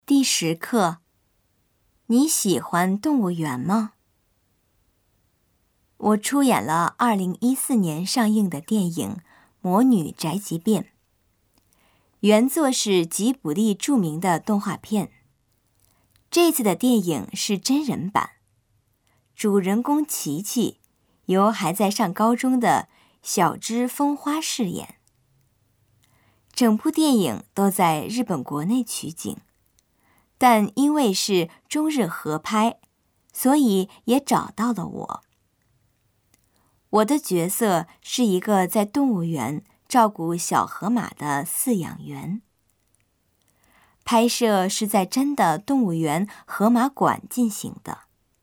第10课，你喜欢动物园吗？我出演了2014年上映的电影《魔女宅急便》，原作是吉卜力著名的动画片。这次的电影是真人版，主人公琪琪由还在上高中的小芝风花饰演。整部电影都在日本国内取景，但因为是中日合拍，所以也找到了我。我的角色是一个在动物园照顾小河马的饲养员。拍摄是在真的动物园河马馆进行的。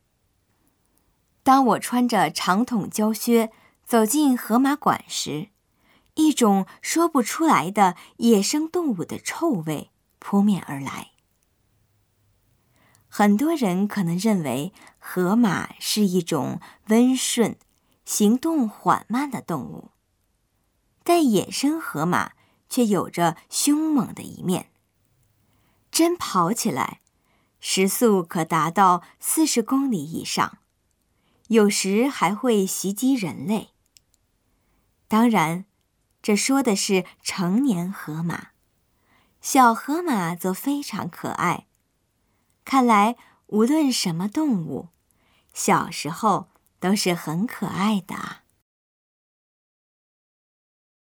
当我穿着长筒胶靴走进河马馆时，一种说不出来的野生动物的臭味扑面而来。很多人可能认为河马是一种温顺、行动缓慢的动物，但野生河马却有着凶猛的一面。真跑起来，时速可达到40公里以上，有时还会袭击人类。当然，这说的是成年河马，小河马则非常可爱。看来，无论什么动物，小时候都是很可爱的啊。